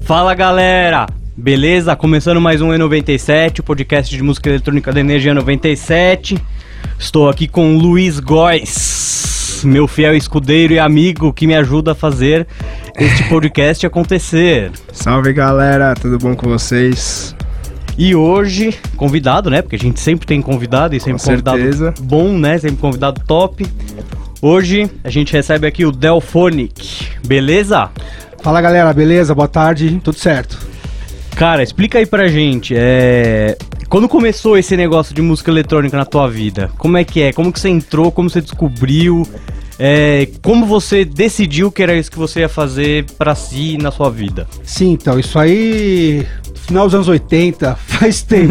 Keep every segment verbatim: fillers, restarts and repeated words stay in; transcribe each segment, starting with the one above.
Fala galera, beleza? Começando mais um E noventa e sete, o podcast de música eletrônica da Energia noventa e sete. Estou aqui com Luiz Góes, meu fiel escudeiro e amigo que me ajuda a fazer este podcast acontecer. Salve galera, tudo bom com vocês? E hoje, convidado, né? Porque a gente sempre tem convidado e sempre com convidado certeza. Bom, né? Sempre convidado top. Hoje a gente recebe aqui o Delphonic, beleza? Fala galera, beleza? Boa tarde, tudo certo? Cara, explica aí pra gente, é... quando começou esse negócio de música eletrônica na tua vida? Como é que é? Como que você entrou? Como você descobriu? É... Como você decidiu que era isso que você ia fazer pra si na sua vida? Sim, então, isso aí... Final dos anos oitenta, faz tempo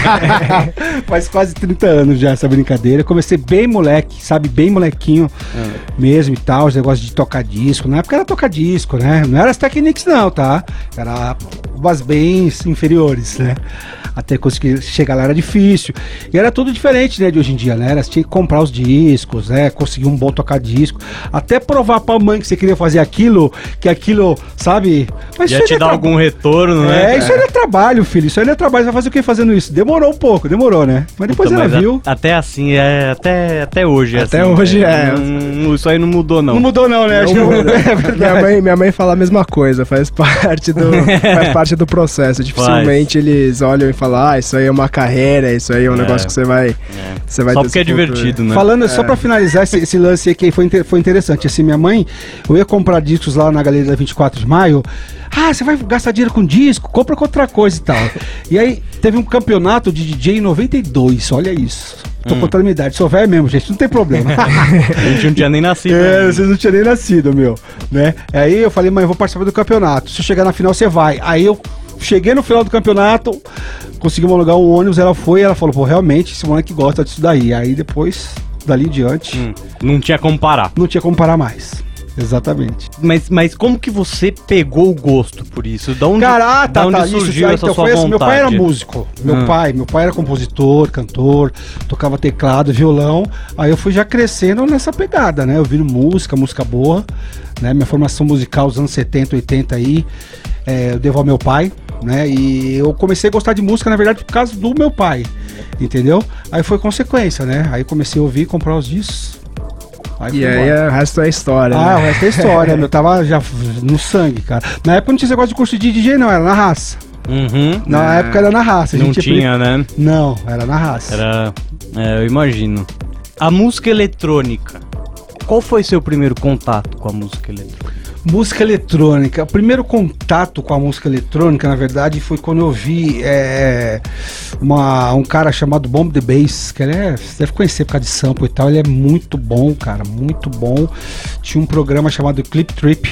já. Faz quase trinta anos já essa brincadeira. Eu comecei bem moleque, sabe? Bem molequinho é. mesmo e tal. Os negócios de tocar disco. Na época era tocar disco, né? Não era as Technics não, tá? Era umas bem inferiores, né? Até conseguir chegar lá era difícil. E era tudo diferente, né, de hoje em dia, né? Você tinha que comprar os discos, né? Conseguir um bom tocar disco. Até provar pra mãe que você queria fazer aquilo, que aquilo, sabe? Mas ia te dar tra... algum retorno, né? É, isso aí é trabalho, filho. Isso aí não é trabalho. Você vai fazer o que fazendo isso? Demorou um pouco, demorou, né? Mas depois Puta, ela mas viu. A, até assim, é, até, até hoje é Até assim, hoje é. é. Não, isso aí não mudou, não. Não mudou, não, né? Não Não muda. É minha, mãe, minha mãe fala a mesma coisa. Faz parte do, faz parte do processo. Dificilmente faz. Eles olham e falam, ah, isso aí é uma carreira, isso aí é um é. negócio que você vai, é. você vai só porque é divertido, né? Falando, é. só pra finalizar esse, esse lance aqui, foi, foi interessante. Assim, minha mãe, eu ia comprar discos lá na Galeria da vinte e quatro de maio. Ah, você vai gastar dinheiro com disco? Compra com outra coisa e tal. E aí, teve um campeonato de D J em noventa e dois, olha isso. Tô hum. contando a minha idade, sou velho mesmo, gente, não tem problema. A gente não tinha nem nascido. É, né? Vocês não tinham nem nascido, meu. Né? Aí eu falei, mãe, eu vou participar do campeonato. Se eu chegar na final, você vai. Aí eu cheguei no final do campeonato, conseguimos alugar um ônibus, ela foi, ela falou, pô, realmente, esse moleque gosta disso daí. Aí depois, dali em diante... Hum. Não tinha como parar. Não tinha como parar mais. Exatamente. Mas, mas como que você pegou o gosto por isso? Da onde, Cara, ah, tá, da onde tá, surgiu isso, essa então, sua foi assim, vontade? meu pai era músico. Meu hum. pai, meu pai era compositor, cantor, tocava teclado, violão. Aí eu fui já crescendo nessa pegada, né? Ouvindo música, música boa, né? Minha formação musical dos anos setenta, oitenta aí, é, eu devo ao meu pai, né? E eu comecei a gostar de música, na verdade, por causa do meu pai, entendeu? Aí foi consequência, né? Aí comecei a ouvir, comprar os discos. Aí e aí embora. O resto é história, Ah, né? o resto é história, eu tava já no sangue, cara. Na época não tinha esse negócio de curso de D J não, era na raça. Uhum. Na é. época era na raça. A não gente tinha, pre... né? Não, era na raça. Era, é, eu imagino. A música eletrônica, qual foi seu primeiro contato com a música eletrônica? Música eletrônica, o primeiro contato com a música eletrônica, na verdade, foi quando eu vi é, uma, um cara chamado Bomb the Bass, que ele é, você deve conhecer por causa de sample e tal, ele é muito bom, cara, muito bom. Tinha um programa chamado Clip Trip,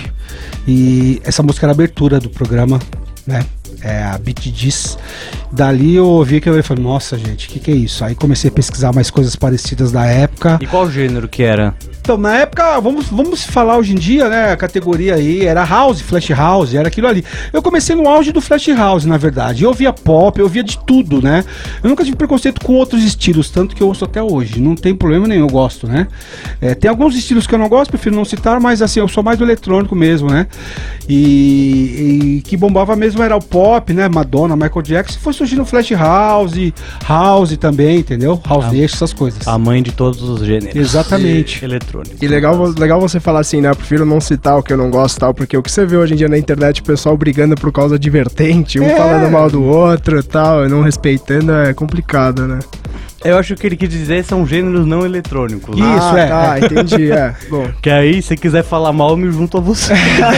e essa música era a abertura do programa, né? É, a Beat Diz. Dali eu ouvi que eu falei, nossa gente, o que que é isso? Aí comecei a pesquisar mais coisas parecidas da época. E qual gênero que era? Então, na época, vamos, vamos falar hoje em dia, né, a categoria aí era house, flash house, era aquilo ali. Eu comecei no auge do flash house, na verdade. Eu ouvia pop, eu ouvia de tudo, né? Eu nunca tive preconceito com outros estilos, tanto que eu ouço até hoje. Não tem problema nenhum, eu gosto, né? É, tem alguns estilos que eu não gosto, prefiro não citar, mas assim, eu sou mais do eletrônico mesmo, né? E, e que bombava mesmo era o pop, né? Madonna, Michael Jackson, foi surgindo flash house, house também, entendeu? House a, deixa, essas coisas. A mãe de todos os gêneros. Exatamente. E, eletrônico. E legal, legal você falar assim, né? Eu prefiro não citar o que eu não gosto e tal, porque o que você vê hoje em dia na internet, o pessoal brigando por causa de vertente, um é. falando mal do outro e tal, não respeitando, é complicado, né? Eu acho que ele quis dizer são gêneros não eletrônicos. Isso, ah, é. Tá, entendi, é. Bom. Que aí, se quiser falar mal, eu me junto a você.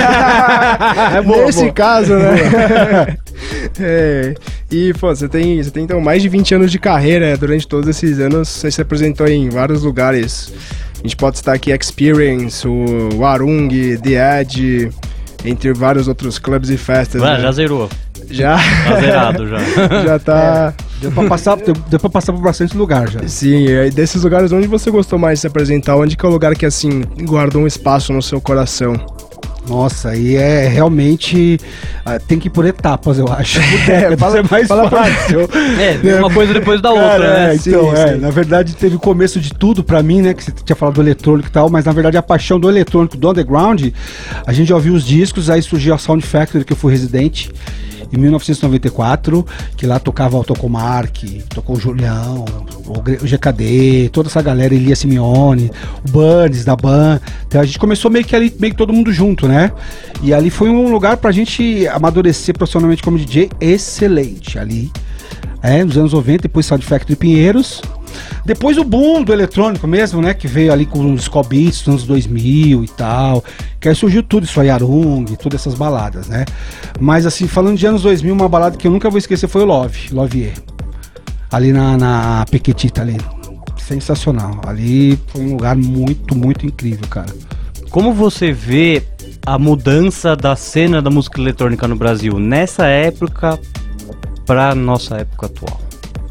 É boa, Nesse boa. caso, né? É. E, pô, você tem, você tem então mais de vinte anos de carreira, durante todos esses anos, você se apresentou em vários lugares. A gente pode citar aqui Experience, o Warung, The Edge, entre vários outros clubes e festas. Ué, né? Já zerou. Já? Tá zerado, já. Já tá... É, deu, pra passar, deu, deu pra passar por bastante lugar já. Sim, e desses lugares, onde você gostou mais de se apresentar? Onde que é o lugar que, assim, guardou um espaço no seu coração? Nossa, e é realmente... Uh, tem que ir por etapas, eu acho. É, fala, mais fala fácil. É, uma coisa depois da Cara, outra, né? É, então, Sim, é, sim. na verdade teve o começo de tudo pra mim, né? Que você tinha falado do eletrônico e tal, mas na verdade a paixão do eletrônico, do underground, a gente já ouviu os discos, aí surgiu a Sound Factory, que eu fui residente em mil novecentos e noventa e quatro, que lá tocava o Tocomark, tocou o Julião, o G K D, toda essa galera, Elia Simeone, o Burns da Ban. Então a gente começou meio que ali, meio que todo mundo junto, né? E ali foi um lugar pra gente amadurecer profissionalmente como D J excelente ali. É, nos anos noventa, depois Sound Factory Pinheiros. Depois o boom do eletrônico mesmo, né? Que veio ali com os Skull Beats dos anos dois mil e tal. Que aí surgiu tudo, isso aí, Arung, todas essas baladas, né? Mas assim, falando de anos dois mil, uma balada que eu nunca vou esquecer foi o Love, Love. Ali na, na Pequetita ali. Sensacional. Ali foi um lugar muito, muito incrível, cara. Como você vê a mudança da cena da música eletrônica no Brasil nessa época pra nossa época atual?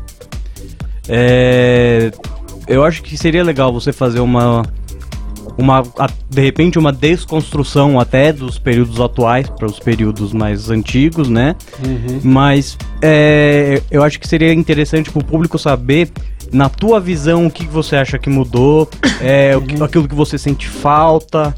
É, eu acho que seria legal você fazer uma, uma, de repente, uma desconstrução até dos períodos atuais para os períodos mais antigos, né? Uhum. Mas é, eu acho que seria interessante para o público saber, na tua visão, o que você acha que mudou, é, uhum. o que, aquilo que você sente falta.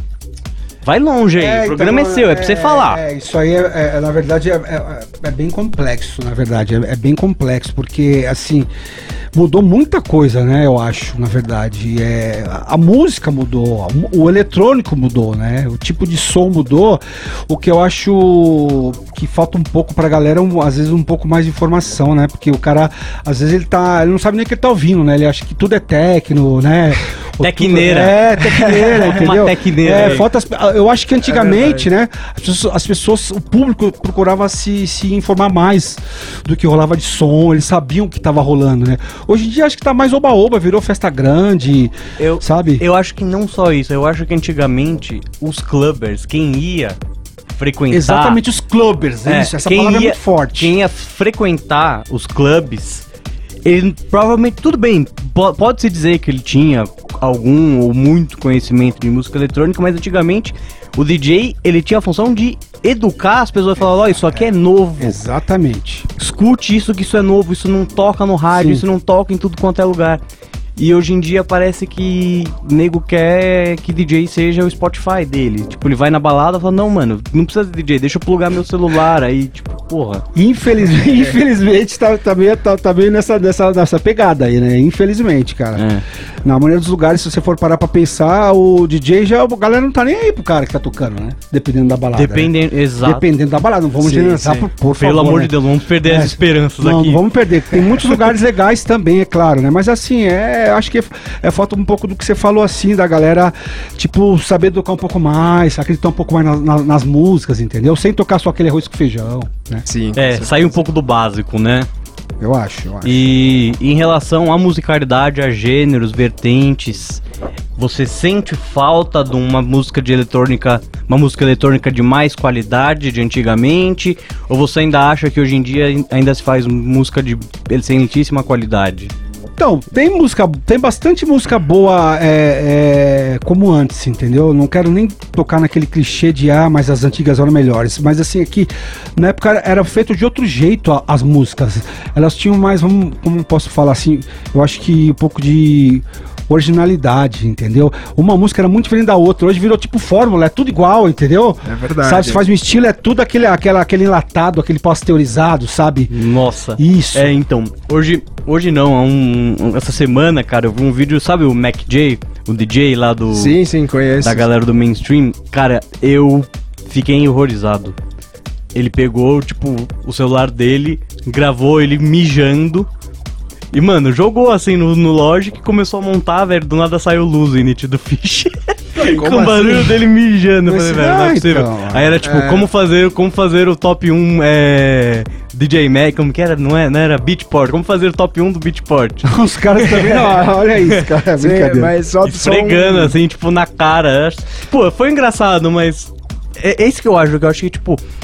Vai longe aí, é, o programa então, é seu, é, é pra você falar. É, isso aí, é, é, na verdade, é, é, é bem complexo, na verdade, é, é bem complexo, porque, assim, mudou muita coisa, né, eu acho, na verdade. É, a, a música mudou, o, o eletrônico mudou, né, o tipo de som mudou, o que eu acho que falta um pouco pra galera, um, às vezes, um pouco mais de informação, né, porque o cara, às vezes, ele tá, ele não sabe nem o que ele tá ouvindo, né, ele acha que tudo é techno, né. Tecneira. É, tecneira, entendeu? Uma tecneira. É, falta as, eu acho que antigamente, é né, as pessoas, as pessoas, o público procurava se, se informar mais do que rolava de som, eles sabiam o que tava rolando, né? Hoje em dia acho que tá mais oba-oba, virou festa grande, eu, sabe? Eu acho que não só isso, eu acho que antigamente os clubbers, quem ia frequentar... Exatamente, os clubbers, é, isso, essa palavra ia, é muito forte. Quem ia frequentar os clubes, ele provavelmente, tudo bem, pode-se dizer que ele tinha algum ou muito conhecimento de música eletrônica, mas antigamente o D J, ele tinha a função de educar as pessoas, falar, ó, oh, isso aqui é novo. Exatamente. Escute isso, que isso é novo, isso não toca no rádio, Sim. isso não toca em tudo quanto é lugar. E hoje em dia parece que o nego quer que D J seja o Spotify dele. Tipo, ele vai na balada e fala, não, mano, não precisa de D J, deixa eu plugar meu celular. Aí, tipo, porra. Infelizmente, infelizmente tá, tá, meio, tá, tá meio nessa, nessa, nessa pegada aí, né? Infelizmente, cara. É. Na maioria dos lugares, se você for parar pra pensar, o D J já, a galera não tá nem aí pro cara que tá tocando, né? Dependendo da balada. Dependendo, né? exato. Dependendo da balada, não vamos generalizar, por, por Pelo favor, amor né? de Deus, vamos perder é. as esperanças não, aqui. Não, vamos perder. Tem muitos lugares legais também, é claro, né? Mas assim, é, acho que é, é falta um pouco do que você falou, assim, da galera, tipo, saber tocar um pouco mais, acreditar um pouco mais na, na, nas músicas, entendeu? Sem tocar só aquele arroz com feijão, né? Sim. É, sair um pouco do básico, né? Eu acho, eu acho. E em relação à musicalidade, a gêneros, vertentes, você sente falta de uma música de eletrônica, uma música eletrônica de mais qualidade de antigamente? Ou você ainda acha que hoje em dia ainda se faz música de excelentíssima qualidade? Então, tem música, tem bastante música boa é, é, como antes, entendeu? Não quero nem tocar naquele clichê de ah, mas as antigas eram melhores. Mas assim, aqui, na época era feito de outro jeito a, as músicas. Elas tinham mais, vamos, como posso falar assim, eu acho que um pouco de originalidade, entendeu? Uma música era muito diferente da outra, hoje virou tipo fórmula, é tudo igual, entendeu? É verdade. Sabe, se faz um estilo, é tudo aquele, aquele, aquele enlatado, aquele pasteurizado, sabe? Nossa. Isso. É, então, hoje, hoje não, há um, um, essa semana, cara, eu vi um vídeo, sabe o Mac J, o D J lá do... Sim, sim, conheço. Da galera do mainstream, cara, eu fiquei horrorizado. Ele pegou, tipo, o celular dele, gravou ele mijando. E, mano, jogou assim no, no Logic e começou a montar, velho. Do nada saiu luz em Nitido Fish. Com o barulho assim? Dele mijando. Eu falei, velho, não é possível. Então, aí era tipo, é... como, fazer, como fazer o top um é, D J Mac, como que era? Não, é, não era Beatport. Como fazer o top um do Beatport. Os caras também, não, olha isso, cara. É brincadeira. Mas só, esfregando, só um... assim, tipo, na cara. Pô, foi engraçado, mas é, é isso que eu acho. Que eu acho que, tipo,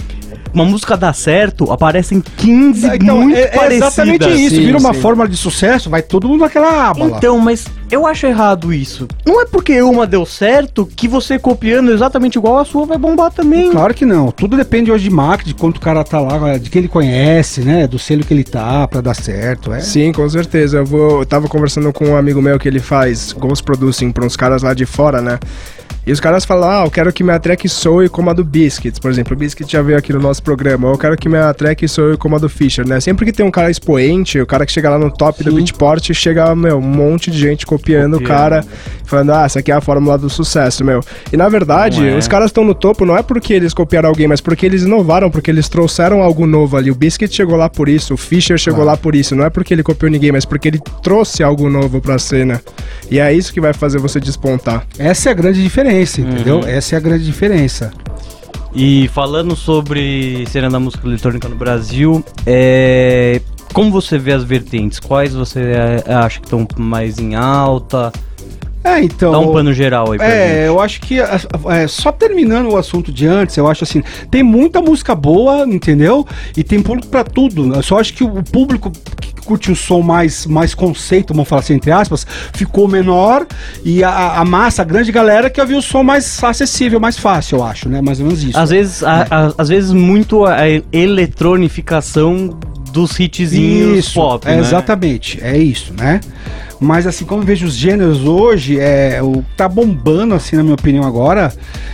uma música dá certo, aparecem quinze então, muito é, parecidas. É exatamente isso, sim, vira uma sim. fórmula de sucesso, vai todo mundo naquela aba lá. Então, mas eu acho errado isso. Não é porque uma deu certo que você copiando exatamente igual a sua vai bombar também. Claro que não, tudo depende hoje de marketing, de quanto o cara tá lá, de quem ele conhece, né, do selo que ele tá, pra dar certo, é. Sim, com certeza. Eu, vou, eu tava conversando com um amigo meu que ele faz Ghost Producing pra uns caras lá de fora, né? E os caras falam, ah, eu quero que minha track soe como a do Biscuits, por exemplo. O Biscuits já veio aqui no nosso programa. Eu quero que minha track soe como a do Fisher, né? Sempre que tem um cara expoente, o cara que chega lá no top Sim. do Beatport, chega, meu, um monte de gente copiando, copiando o cara, falando, ah, essa aqui é a fórmula do sucesso, meu. E na verdade, é. os caras estão no topo não é porque eles copiaram alguém, mas porque eles inovaram, porque eles trouxeram algo novo ali. O Biscuit chegou lá por isso, o Fisher chegou claro. lá por isso. Não é porque ele copiou ninguém, mas porque ele trouxe algo novo pra cena. E é isso que vai fazer você despontar. Essa é a grande diferença, entendeu? Uhum. Essa é a grande diferença. E falando sobre cena da música eletrônica no Brasil, é... como você vê as vertentes? Quais você acha que estão mais em alta? É, então... Dá um pano geral aí pra É, gente. eu acho que, é, só terminando o assunto de antes, eu acho assim, tem muita música boa, entendeu? E tem público pra tudo. Eu só acho que o público que curte um som mais, mais conceito, vamos falar assim, entre aspas, ficou menor, e a, a massa, a grande galera que ouviu o som mais acessível, mais fácil, eu acho, né? Mais ou menos isso. Às vezes, a, a, às vezes muito a eletronificação dos hitzinhos isso, pop, é, né? Exatamente, é isso, né? Mas assim, como eu vejo os gêneros hoje, é, o que tá bombando, assim, na minha opinião agora,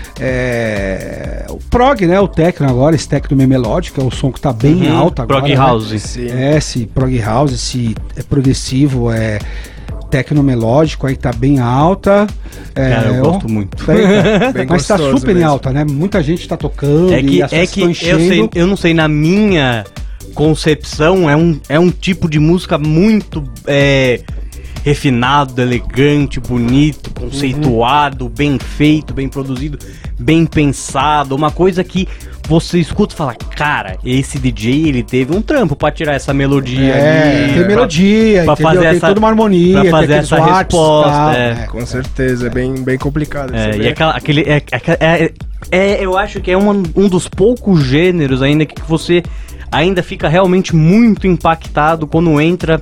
é o prog, né? O techno agora, esse techno meio melódico, é o som que tá bem uhum, alto agora. Prog house. Né? Sim. É, esse prog house, esse é progressivo, é techno melódico, aí tá bem alta. É, Cara, eu ó, gosto muito. Tá aí, Bem mas tá gostoso super mesmo. em alta, né? Muita gente tá tocando. É que, e as é pessoas que tão eu, enchendo. sei, eu não sei, na minha concepção, é um, é um tipo de música muito é, refinado, elegante, bonito, conceituado, uhum. bem feito, bem produzido, bem pensado. Uma coisa que você escuta e fala, cara, esse D J, ele teve um trampo pra tirar essa melodia É, ali. tem pra, melodia, pra entendeu? fazer Tem essa, toda uma harmonia, pra fazer tem essa aqueles resposta. tal, é. é. Com certeza, é bem, bem complicado. de É, você e ver. aquela, aquele, é, é, é, eu acho que é uma, um dos poucos gêneros ainda que você ainda fica realmente muito impactado quando entra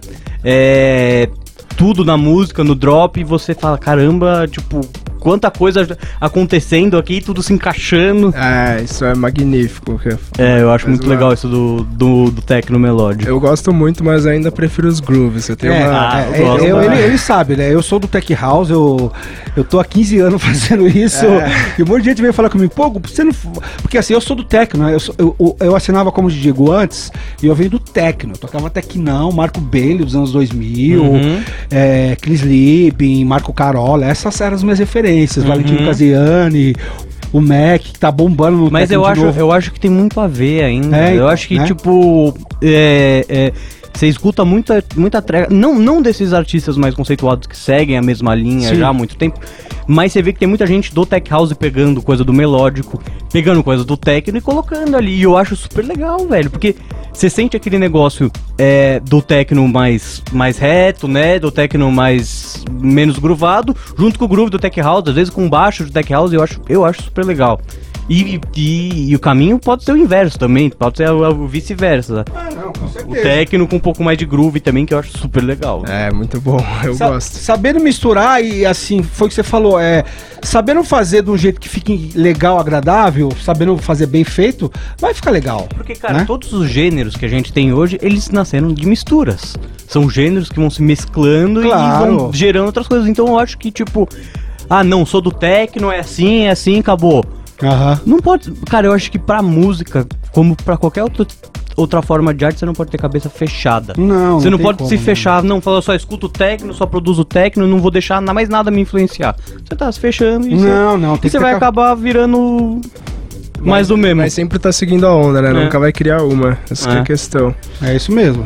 é, tudo na música, no drop, e você fala, caramba, tipo, quanta coisa acontecendo aqui, tudo se encaixando. É, isso é magnífico. É, eu acho Mas muito lá- legal isso do, do, do techno melódico. Eu gosto muito, mas ainda prefiro os grooves. Você tem É, uma... ah, é, eu gosto, eu- né? ele, ele sabe, né? Eu sou do Tech House, eu, eu tô há quinze anos fazendo isso. É. E um monte de gente veio falar comigo, pô, você não. Porque assim, eu sou do Tecno, né? Eu, sou- eu, eu, eu assinava como D J Gu antes e eu venho do Tecno. Eu tocava Tecnão, Marco Bailey dos anos dois mil, Uhum. é, Chris Liebing, Marco Carola, essas eram as minhas referências. Uhum. Valentino Casiani, o Mac, que tá bombando no Mas Tecno eu de acho, novo. eu acho que tem muito a ver ainda. É, eu então, acho que, né? tipo, é, é, você escuta muita, muita treva. Não, não desses artistas mais conceituados que seguem a mesma linha Sim. já há muito tempo. Mas você vê que tem muita gente do tech house pegando coisa do melódico, pegando coisa do techno e colocando ali. E eu acho super legal, velho. Porque você sente aquele negócio é, do techno mais, mais reto, né? Do techno mais menos groovado, junto com o groove do tech house, às vezes com baixo do tech house, eu acho, eu acho super legal. E, e, e o caminho pode ser o inverso também, pode ser o, o vice-versa. Ah, não, com O certeza. techno com um pouco mais de groove também, que eu acho super legal. É, muito bom. Eu Sa- gosto. Sabendo misturar e assim, foi o que você falou, é, sabendo fazer de um jeito que fique legal, agradável, sabendo fazer bem feito, vai ficar legal. Porque, cara, né? todos os gêneros que a gente tem hoje, eles nasceram de misturas. São gêneros que vão se mesclando Claro. e vão gerando outras coisas. Então eu acho que, tipo, ah, não, sou do techno, é assim, é assim, acabou. Aham. Não pode. Cara, eu acho que pra música, como pra qualquer outro, outra forma de arte, você não pode ter cabeça fechada. Não, Você não, tem pode como, se né? fechar, não, falar, eu só escuto techno, só produzo techno, não vou deixar na- mais nada me influenciar. Você tá se fechando e você, Não, não, tem e você que vai ter ca- acabar virando mais do mesmo. Mas sempre tá seguindo a onda, né? É. Nunca vai criar uma. Essa que é É. a questão. É isso mesmo.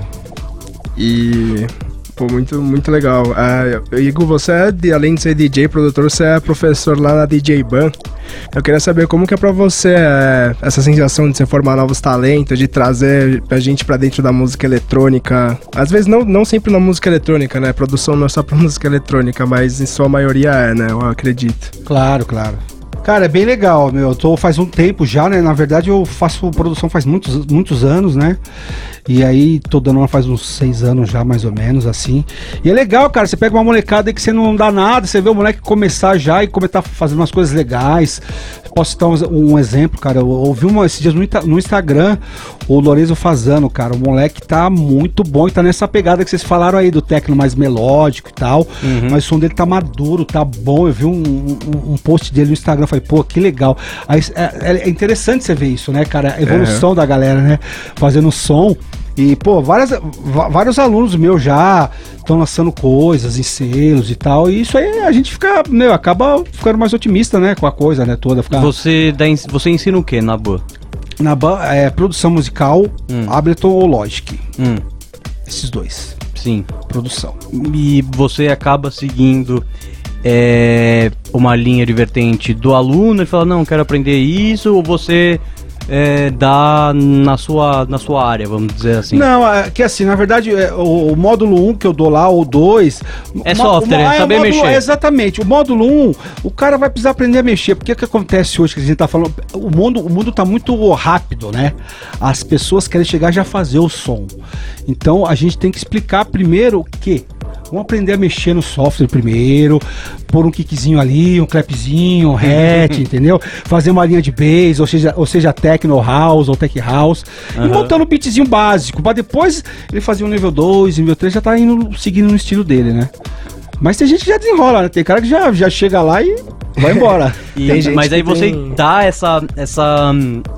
E... Pô, muito, muito legal. Ah, Igor, você é, de, além de ser D J, produtor, você é professor lá na D J Ban. Eu queria saber como que é pra você é, essa sensação de você formar novos talentos, de trazer a gente pra dentro da música eletrônica. Às vezes não, não sempre na música eletrônica, né? Produção não é só pra música eletrônica, mas em sua maioria é, né? Eu acredito. Claro, claro. Cara, é bem legal, meu. Eu tô faz um tempo já, né? Na verdade, eu faço produção faz muitos, muitos anos, né? E aí, tô dando uma faz uns seis anos já, mais ou menos, assim. E é legal, cara. Você pega uma molecada aí que você não dá nada, você vê o moleque começar já e começar fazendo umas coisas legais. Posso citar um, um exemplo, cara. Eu ouvi uma, esses dias no, no Instagram, o Lorenzo Fazano, cara. O moleque tá muito bom e tá nessa pegada que vocês falaram aí do techno mais melódico e tal. Uhum. Mas o som dele tá maduro, tá bom. Eu vi um, um, um post dele no Instagram, falei, pô, que legal. Aí, é, é interessante você ver isso, né, cara? A evolução uhum. da galera, né? Fazendo som. E, pô, várias, vários alunos meus já estão lançando coisas em selos e tal. E isso aí a gente fica, meu, acaba ficando mais otimista, né? Com a coisa, né? Toda. Ficar... Você, dá, você ensina o que na B A? Na B A é produção musical, hum. Ableton ou Logic. Hum. Esses dois. Sim. Produção. E você acaba seguindo é, uma linha de vertente do aluno, ele fala, não, quero aprender isso, ou você... É, dá na sua, na sua área, vamos dizer assim. Não, é que assim, na verdade, é, o, o módulo um que eu dou lá, ou dois... É software, é saber módulo, mexer. Exatamente. O módulo um, o cara vai precisar aprender a mexer. Porque o que acontece hoje, que a gente tá falando... O mundo, o mundo tá muito rápido, né? As pessoas querem chegar já fazer o som. Então, a gente tem que explicar primeiro que... Vamos aprender a mexer no software primeiro, pôr um kickzinho ali, um clapzinho, um hat, entendeu? Fazer uma linha de bass, ou seja, ou seja techno house ou tech house, uhum. e montando um beatzinho básico, para depois ele fazer um nível dois, nível três, já tá indo, seguindo no estilo dele, né? Mas tem gente que já desenrola, né? Tem cara que já, já chega lá e vai embora. E, mas aí você tem... dá essa, essa,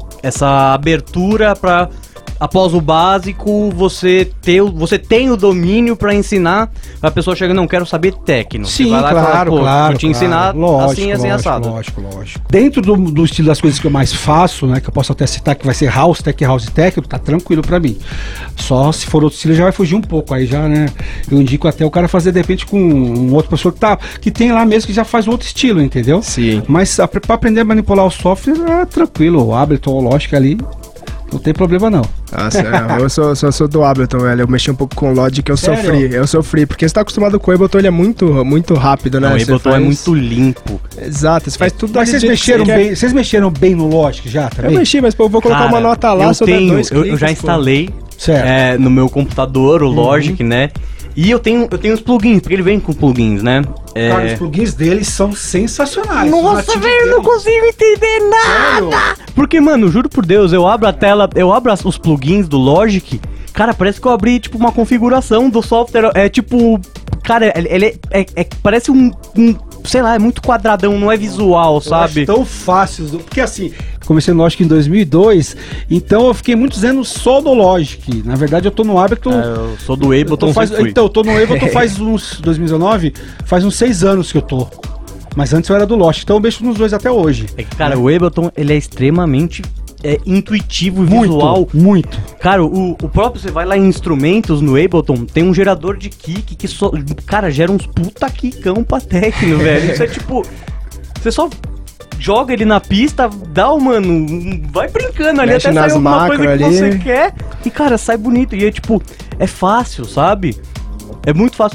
essa abertura para... Após o básico, você, ter, você tem o domínio para ensinar a pessoa chega, não, quero saber técnico. Sim, você vai lá claro, e fala, pô, claro. Vou te ensinar lógico, assim, assim, lógico, assado. Lógico, lógico. Dentro do, do estilo das coisas que eu mais faço, né, que eu posso até citar que vai ser house, tech house e técnico, tá tranquilo para mim. Só se for outro estilo já vai fugir um pouco, aí já, né, eu indico até o cara fazer de repente com um outro professor que, tá, que tem lá mesmo que já faz um outro estilo, entendeu? Sim. Mas para aprender a manipular o software é tranquilo, o Ableton ou Logic ali... Não tem problema não. Nossa, eu sou, sou, sou do Ableton, velho. Eu mexi um pouco com o Logic, eu Sério? sofri. Eu sofri, porque você tá acostumado com o Ableton, ele é muito, muito rápido, né? Não, o Ableton faz... é muito limpo. Exato, você faz tudo. Mas vocês mexeram bem, vocês mexeram bem no Logic já também? Eu mexi, mas pô, eu vou colocar Cara, uma nota lá, eu só tenho, dar dois eu, cliques, eu já instalei é, no meu computador o uhum. Logic, né? E eu tenho, eu tenho os plugins, porque ele vem com plugins, né? É... Cara, os plugins deles são sensacionais. Nossa, velho, eu não consigo entender nada! Sério? Porque, mano, juro por Deus, eu abro a tela, eu abro as, os plugins do Logic, cara, parece que eu abri, tipo, uma configuração do software, é tipo... Cara, ele, ele é, é, é, parece um, um... Sei lá, é muito quadradão, não é visual, eu sabe? É tão fácil, porque assim, comecei no Logic em dois mil e dois, então eu fiquei muitos anos só no Logic. Na verdade eu tô no Ableton... É, eu sou do Ableton, faz, Então, eu tô no Ableton faz uns... dois mil e dezenove, faz uns seis anos que eu tô. Mas antes eu era do Logic, então eu mexo nos dois até hoje. É que, cara, né? O Ableton, ele é extremamente... É intuitivo e visual. Muito. Cara, o, o próprio, você vai lá em instrumentos no Ableton, tem um gerador de kick que só, cara, gera uns puta kickão pra techno, velho. Isso é tipo, você só joga ele na pista, dá o mano, vai brincando ali, mexe até sair alguma coisa que ali. você quer e, cara, sai bonito. E é tipo, é fácil, sabe? É muito fácil.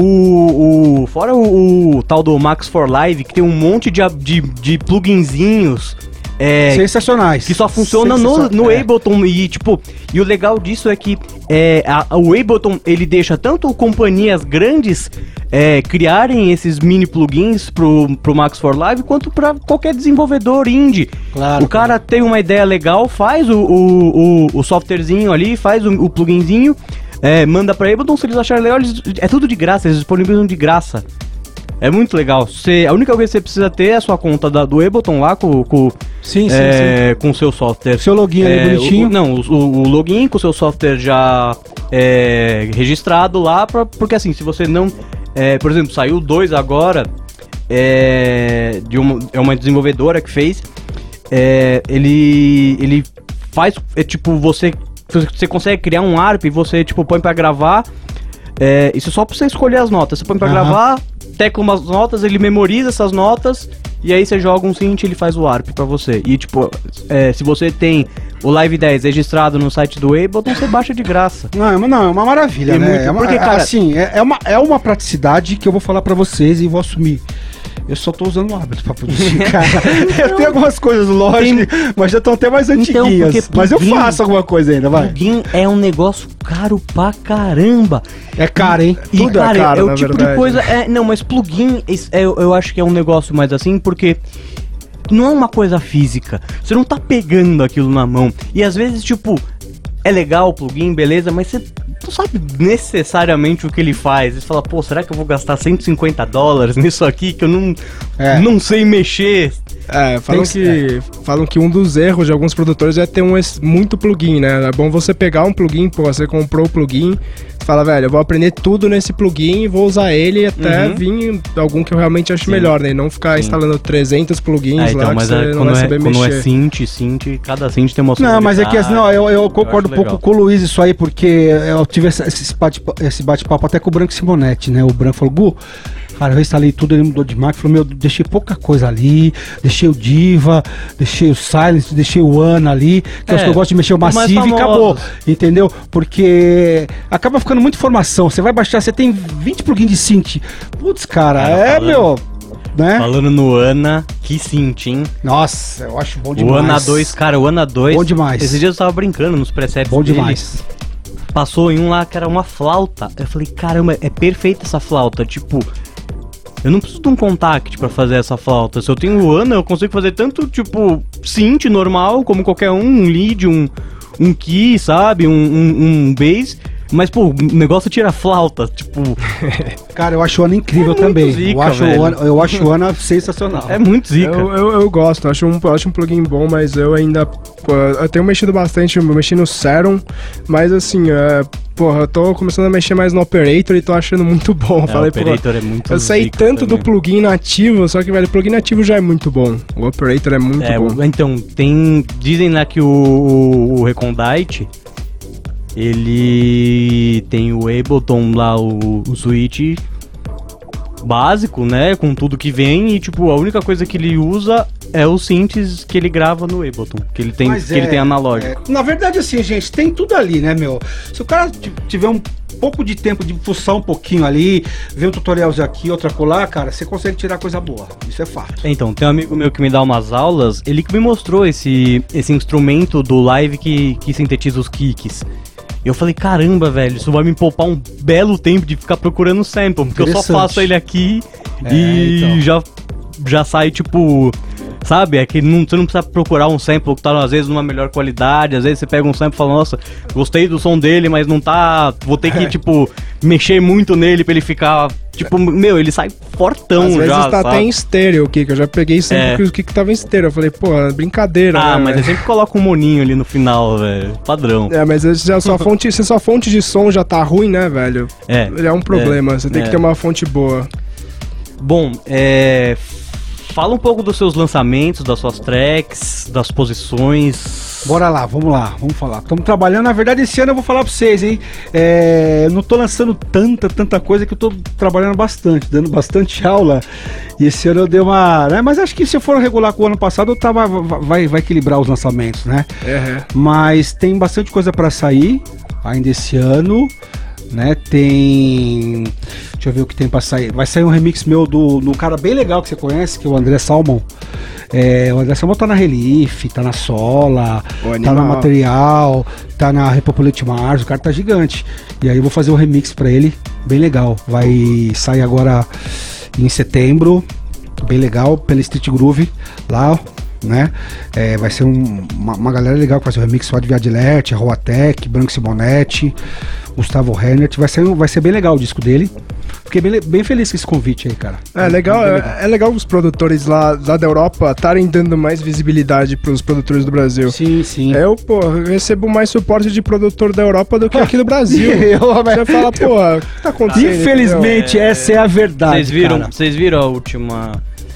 O, o, fora o, o tal do Max for Live, que tem um monte de, de, de pluginzinhos. É, sensacionais. Que só funciona no, no é. Ableton. E tipo, e o legal disso é que é, a, o Ableton, ele deixa tanto companhias grandes é, criarem esses mini plugins pro, pro Max for Live, quanto para qualquer desenvolvedor indie. Claro, o cara claro. tem uma ideia legal, faz o, o, o, o softwarezinho ali, faz o, o pluginzinho, é, manda pra Ableton, se eles acharem legal, eles, é tudo de graça, eles disponibilizam de graça. É muito legal. Você, a única coisa que você precisa ter é a sua conta da, do Ableton lá com o sim, é, sim, com o seu software. Seu login é, ali bonitinho. O, não, o, o login com o seu software já é, registrado lá, pra, porque assim, se você não... É, por exemplo, saiu o dois agora, é, de uma, é uma desenvolvedora que fez, é, ele, ele faz, é, tipo, você, você consegue criar um A R P e você, tipo, põe pra gravar, é, isso é só pra você escolher as notas, você põe pra uhum. gravar, tecla umas notas, ele memoriza essas notas, e aí você joga um synth e ele faz o A R P pra você. E tipo, é, se você tem o Live dez registrado no site do Ableton, você baixa de graça. Não, é uma, não, é uma maravilha, É né? muito- é uma, porque, é, cara- assim, é, é uma, é uma praticidade que eu vou falar pra vocês e vou assumir. Eu só tô usando o hábito pra produzir, cara. Eu tenho algumas coisas lógicas, mas já estão até mais Então, antiguinhas. porque Mas eu plugin- faço alguma coisa ainda, vai. Plugin é um negócio caro pra caramba. É caro, hein? E, Tudo é cara, caro, é o na tipo verdade. de coisa... É, não, mas plugin, es- é, eu, eu acho que é um negócio mais assim, porque... Não é uma coisa física. Você não tá pegando aquilo na mão. E às vezes, tipo... É legal o plugin, beleza, mas você não sabe necessariamente o que ele faz. Você fala, pô, será que eu vou gastar cento e cinquenta dólares nisso aqui que eu não, É. não sei mexer? É, falam Tem que, falam que um dos erros de alguns produtores é ter um, ex- muito plugin, né? É bom você pegar um plugin, pô, você comprou o plugin, você fala, velho, eu vou aprender tudo nesse plugin e vou usar ele até Uhum. vir algum que eu realmente acho Sim. melhor, né? E não ficar Sim. instalando trezentos plugins Ah, lá então, que mas você é, não quando, vai é, saber quando é mexer. synth, synth, cada synth tem uma Não, mas é que assim, não, eu, eu concordo acho um pouco legal. com o Luiz isso aí, porque eu tive essa- esse bate-papo esse bate-papo até com o Branco Simonetti, né? O Branco falou, Gu, cara, eu instalei tudo, ele mudou de marca, falou, meu, deixei pouca coisa ali, deixei o Diva, deixei o Silence, deixei o Ana ali, que é, os É, que eu gosto de mexer o os mais Massive e acabou, famosos. entendeu? Porque acaba ficando muita informação, você vai baixar, você tem vinte plugins de synth, putz, cara, Cara, é, falando- meu, né? Falando no Ana, que synth, hein? Nossa, eu acho bom O demais. Ana dois, cara, o Ana dois... Bom demais. Esses dias eu tava brincando nos presets Bom dele. demais. Passou em um lá que era uma flauta. Eu falei, caramba, é perfeita essa flauta. Tipo, eu não preciso de um contact pra fazer essa flauta. Se eu tenho o Ana, eu consigo fazer tanto, tipo, synth normal, como qualquer um, um lead, um, um key, sabe? Um, um, um bass. Mas, pô, o negócio tira flauta, tipo... Cara, eu acho o Ana incrível É muito também. zica, eu, acho velho. o Ana, eu acho o Ana sensacional. É muito zica. Eu, eu, eu gosto, acho um, acho um plugin bom, mas eu ainda. Pô, eu tenho mexido bastante, eu mexi no Serum, mas assim, é, porra, eu tô começando a mexer mais no Operator e tô achando muito bom. É, Falei, o Operator é muito eu sei zica tanto do também. plugin nativo, só que, velho, o plugin nativo já é muito bom. O Operator é muito É, bom. o- então, tem... Dizem lá que o, o, o Recondite, ele tem o Ableton lá, o, o switch básico, né? Com tudo que vem e, tipo, a única coisa que ele usa é os synths que ele grava no Ableton. Que ele tem, Mas que ele é, tem analógico. é, na verdade, assim, gente, tem tudo ali, né, meu? Se o cara t- tiver um pouco de tempo de fuçar um pouquinho ali, ver um tutorial aqui, outra colar, cara, você consegue tirar coisa boa. Isso é fato. Então, tem um amigo meu que me dá umas aulas, ele que me mostrou esse, esse instrumento do Live que, que sintetiza os kicks. E eu falei, caramba, velho, isso vai me poupar um belo tempo de ficar procurando sample, porque eu só Interessante. faço ele aqui É, e então. já, já sai, tipo... Sabe? É que não, você não precisa procurar um sample que tá, às vezes, numa melhor qualidade. Às vezes você pega um sample e fala, nossa, gostei do som dele, mas não tá... Vou ter que, tipo, mexer muito nele pra ele ficar... Tipo, meu, ele sai fortão Às vezes já, tá sabe? até em estéreo, que eu já peguei sempre É. que o que que tava em estéreo. Eu falei, pô, brincadeira, Ah, né, mas velho? eu sempre coloco um moninho ali no final, velho. Padrão. É, mas se a sua fonte, se a sua fonte de som já tá ruim, né, velho? É. É um problema. Você tem é. que ter uma fonte boa. Bom, é... Fala um pouco dos seus lançamentos, das suas tracks, das posições. Bora lá, vamos lá, vamos falar. Estamos trabalhando, na verdade, esse ano eu vou falar pra vocês, hein? É, eu não tô lançando tanta, tanta coisa que eu tô trabalhando bastante, dando bastante aula. E esse ano eu dei uma. Né? Mas acho que se eu for regular com o ano passado, eu tava, vai, vai equilibrar os lançamentos, né? É, Mas tem bastante coisa pra sair ainda esse ano, né? Tem. Deixa eu ver o que tem pra sair. Vai sair um remix meu do, do cara bem legal que você conhece, que é o André Salmon. É, o André Salmon tá na Relief, tá na Sola, Pô, tá animal. na Material, tá na Repopulate Mars, o cara tá gigante. E aí eu vou fazer um remix pra ele, bem legal. Vai sair agora em setembro, bem legal, pela Street Groove lá, né? É, vai ser um- uma, uma galera legal que vai fazer o remix, Swad Viadilete, Roatec, Branco Simonetti, Gustavo Hernert. Vai ser, um- vai ser bem legal o disco dele. Fiquei bem, bem feliz com esse convite aí, cara. É legal, Bem é, é legal os produtores lá, lá da Europa estarem dando mais visibilidade pros produtores do Brasil. Sim, sim. Eu, pô, recebo mais suporte de produtor da Europa do que aqui do Brasil. Eu, Você fala, pô, o que tá acontecendo? Infelizmente, É, essa é a verdade. Vocês viram, cara. vocês viram a última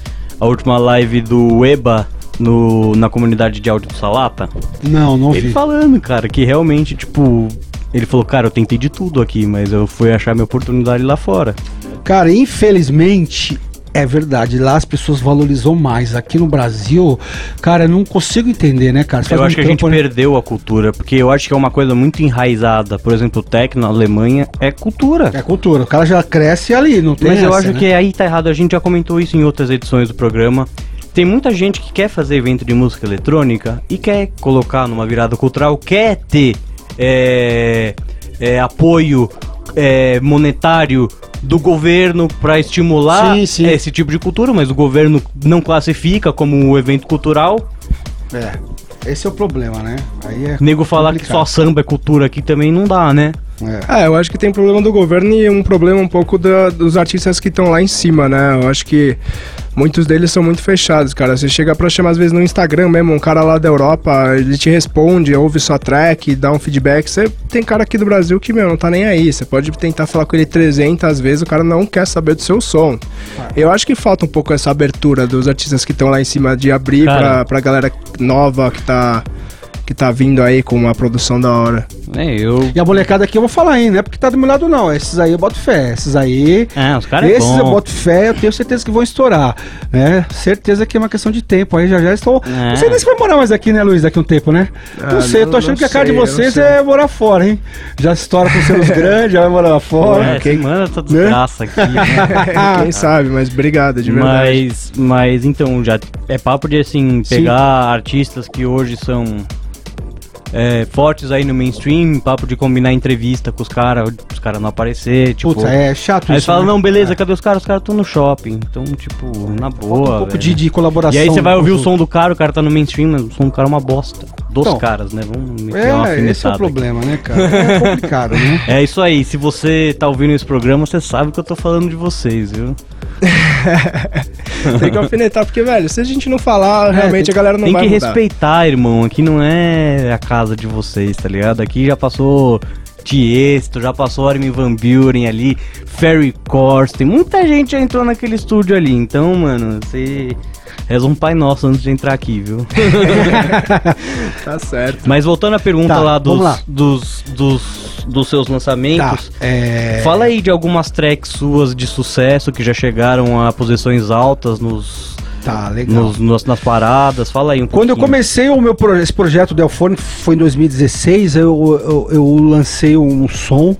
a última live do Eba no, na comunidade de áudio do Salata? Não, não Ele vi. falando, cara, que realmente, tipo, ele falou, cara, eu tentei de tudo aqui, mas eu fui achar minha oportunidade lá fora. Cara, infelizmente, É verdade, lá as pessoas valorizam mais. Aqui no Brasil, cara, eu não consigo entender, né, cara? Eu acho que a gente perdeu a cultura, porque eu acho que é uma coisa muito enraizada. Por exemplo, o techno na Alemanha é cultura. É cultura, o cara já cresce ali, não tem Mas essa, eu acho né? que aí tá errado, a gente já comentou isso em outras edições do programa. Tem muita gente que quer fazer evento de música eletrônica e quer colocar numa virada cultural, quer ter é, é, apoio é, monetário do governo para estimular sim, sim. esse tipo de cultura, mas o governo não classifica como um evento cultural. É, esse é o problema, né? Aí é Nego falar complicado. que só samba é cultura aqui também não dá, né? É. É, eu acho que tem problema do governo e um problema um pouco da, dos artistas que estão lá em cima, né? Eu acho que muitos deles são muito fechados, cara. Você chega pra chamar, às vezes, no Instagram mesmo, um cara lá da Europa, ele te responde, ouve sua track, dá um feedback. Você tem cara aqui do Brasil que, meu, não tá nem aí. Você pode tentar falar com ele trezentas vezes, o cara não quer saber do seu som. Eu acho que falta um pouco essa abertura dos artistas que estão lá em cima de abrir pra, pra galera nova que tá... que tá vindo aí com uma produção da hora. É, eu... E a molecada aqui eu vou falar, hein? Não é porque tá do meu lado, não. Esses aí eu boto fé. Esses aí... É, os caras é Esses bom. eu boto fé, eu tenho certeza que vão estourar, né? Certeza que é uma questão de tempo. Aí já já estou... É. Não sei nem se vai morar mais aqui, né, Luiz? Daqui a um tempo, né? Ah, não sei, eu tô não- achando não que a cara sei, de eu vocês não sei. é morar fora, hein? Já estoura com seus grandes, já vai morar lá fora. É, quem- mano, tá desgraça aqui, né? Quem sabe, mas obrigado, de verdade. Mas, mas então, já é papo de assim, pegar artistas que hoje são é, fortes aí no mainstream, papo de combinar entrevista com os caras, os caras não aparecer, tipo. Puta, é chato Aí isso, você fala, né? não, beleza, cadê os caras? Os caras estão no shopping. Então, tipo, na Falta boa. um pouco velho. de, de colaboração. E aí você vai ouvir o com- som do cara, o cara tá no mainstream, mas o som do cara é uma bosta. Dos Então, caras, né? Vamos meter uma É, esse é o alfinetada problema, né, cara? É complicado, né? aqui. É isso aí, se você tá ouvindo esse programa, você sabe que eu tô falando de vocês, viu? Tem que alfinetar, porque, velho, se a gente não falar, realmente tem, a galera não tem vai que mudar. respeitar, irmão. Aqui não é a casa de vocês, tá ligado? Aqui já passou Tiesto, já passou Armin van Buuren ali, Ferry Corsten, tem muita gente já entrou naquele estúdio ali. Então, mano, você reza um Pai Nosso antes de entrar aqui, viu? Tá certo. Mas voltando à pergunta Tá, lá, dos, vamos lá. Dos, dos, dos seus Tá, lançamentos, é... fala aí de algumas tracks suas de sucesso que já chegaram a posições altas nos, Tá, legal. nos, nos- nas paradas. Fala aí um Quando eu pouquinho. comecei o meu pro- esse projeto do Elfone, foi em dois mil e dezesseis, eu, eu, eu lancei um som,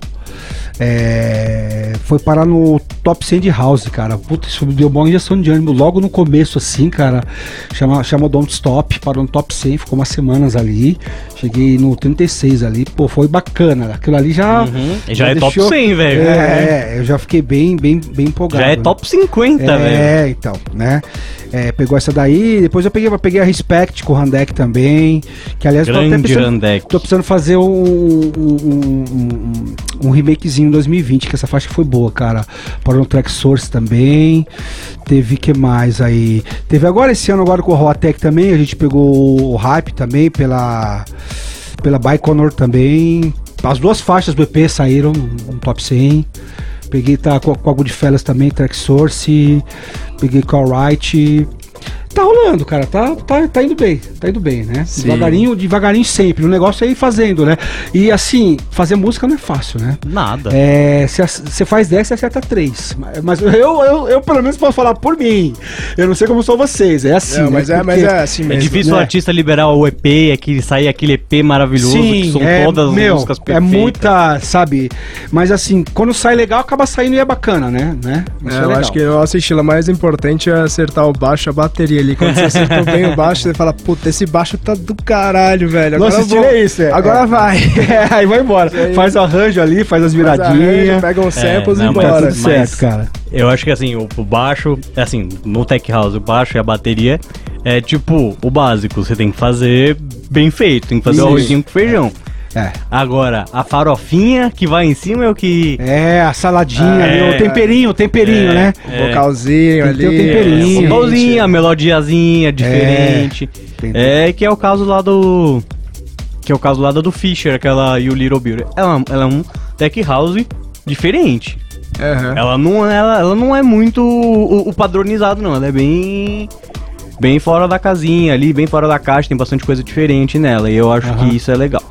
é, foi parar no top cem de house, cara. Puta, isso me deu uma injeção de ânimo logo no começo, assim, cara. Chama, chama Don't Stop, parou no top cem, ficou umas semanas ali. Cheguei no trinta e seis ali, pô, foi bacana. Aquilo ali já... Uhum. Já é top deixou- cem, velho. É, eu já fiquei bem, bem, bem empolgado. Já é né? top cinquenta, velho. É, então, né? É, pegou essa daí, depois eu peguei, eu peguei a Respect com o Randek também, que aliás eu tô até Grande pensando, Randek. tô precisando fazer um, um, um, um, um remakezinho em dois mil e vinte, que essa faixa foi boa, cara. Para no Track Source também, teve que mais aí, teve agora esse ano agora com o Roatec também, a gente pegou o Hype também pela, pela Baikonur também, as duas faixas do E P saíram no top cem. Peguei tá, com, com a Goodfellas também, Track Source. Peguei com a Right. Tá rolando, cara. Tá, tá, tá indo bem. Tá indo bem, né? Sim. Devagarinho, devagarinho sempre. O negócio é ir fazendo, né? E assim, fazer música não é fácil, né? Nada. É, você faz dez, você acerta três. Mas, mas eu, eu, eu, pelo menos, posso falar por mim. Eu não sei como são vocês. É assim. Não, né? mas, é, mas Porque- é assim É mesmo. difícil né? o artista liberar o E P, é que sair aquele E P maravilhoso, que são é, todas as meu, músicas é perfeitas. muita, sabe? Mas assim, quando sai legal, acaba saindo e é bacana, né? né? Isso É, é eu legal. acho que o nosso estilo mais importante é acertar o baixo e a bateria ali. Quando você acertou bem o baixo, você fala, puta, esse baixo tá do caralho, velho. Agora Nossa, eu vou... estilo é isso, é. Agora É. vai. É, aí vai embora. aí- Faz o arranjo ali, faz as Faz arranjo, viradinhas. pega uns samples não, e mas Tá embora. tudo Mas- certo, cara. Eu acho que assim, o, o baixo, assim, no Tech House, o baixo e a bateria é tipo o básico. Você tem que fazer bem feito, tem que fazer Isso. o arrozinho com feijão. É. Agora, a farofinha que vai em cima é o que. É, a saladinha Ah, ali, é. o temperinho, o temperinho, É. né? O vocalzinho Tem que ali. ter o temperinho. O Sim, pauzinho, a melodiazinha diferente. Tem- É, que é o caso lá do. Que é o caso lá da do Fisher, aquela You Little Beauty. Ela, ela é um tech house diferente. Aham. Ela não, ela, ela não é muito o, o padronizado, não. Ela é bem. Bem fora da casinha ali, bem fora da caixa, tem bastante coisa diferente nela. E eu acho Aham. que isso é legal.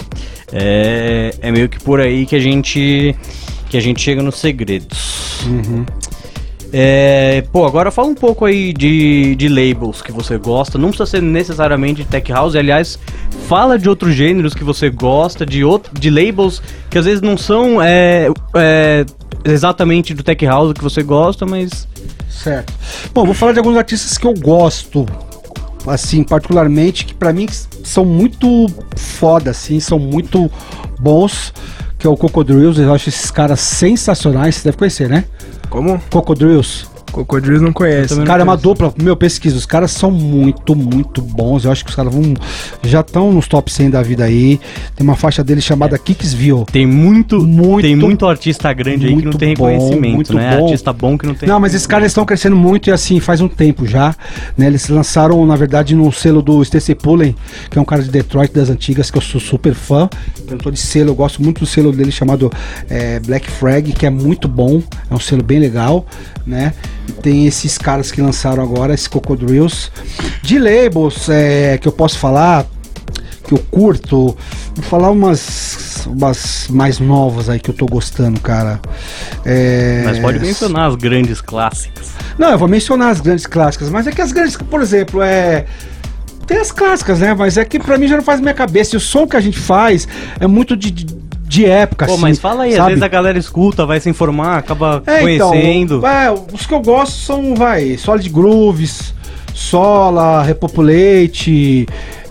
É, é meio que por aí que a gente. Que a gente chega nos segredos. Uhum. É, pô, agora fala um pouco aí de, de labels que você gosta. Não precisa ser necessariamente tech house. Aliás, fala de outros gêneros que você gosta, de, outro, de labels que às vezes não são é, é, exatamente do tech house que você gosta, mas... Certo. Bom, vou falar de alguns artistas que eu gosto, assim, particularmente, que pra mim são muito foda, assim, são muito bons, que é o Cocodrills. Eu acho esses caras sensacionais. Você deve conhecer, né? Como? Cocodrills. Cocodrills não conhece. Cara, é uma dupla, meu, pesquisa, os caras são muito, muito bons. Eu acho que os caras vão, já estão nos top cem da vida aí. Tem uma faixa dele chamada é. Kicksville. Tem muito, muito, tem muito artista grande aí que não tem bom, reconhecimento, né? Bom. Artista bom que não tem. Não, mas esses caras estão crescendo muito e assim, faz um tempo já, né? Eles lançaram, na verdade, no selo do Stacey Pullen, que é um cara de Detroit das antigas, que eu sou super fã. Eu tô de selo, eu gosto muito do selo dele chamado é, Black Flag, que é muito bom. É um selo bem legal, né? E tem esses caras que lançaram agora, esse Cocodrills. De labels é, que eu posso falar, que eu curto, vou falar umas, umas mais novas aí que eu tô gostando, cara. É... Mas pode mencionar as grandes clássicas. Não, eu vou mencionar as grandes clássicas, mas é que as grandes, por exemplo, é... Tem as clássicas, né? Mas é que pra mim já não faz minha cabeça. E o som que a gente faz é muito de... de de época, Pô, assim, mas fala aí, sabe? Às vezes a galera escuta, vai se informar, acaba é, conhecendo. Então, é, os que eu gosto são, vai, Solid Grooves, Sola, Repopulate,